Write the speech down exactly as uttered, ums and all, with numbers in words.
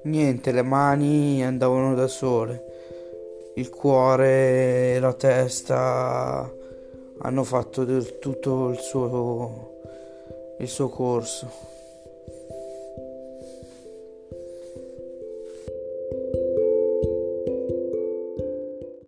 Niente, le mani andavano da sole, il cuore e la testa hanno fatto del tutto il suo, il suo corso.